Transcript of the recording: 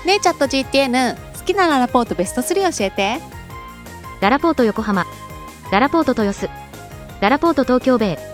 ねえチャット GTN、 好きなララポートベスト3教えて。 ララポート横浜、ララポート豊洲、ララポート東京ベイ。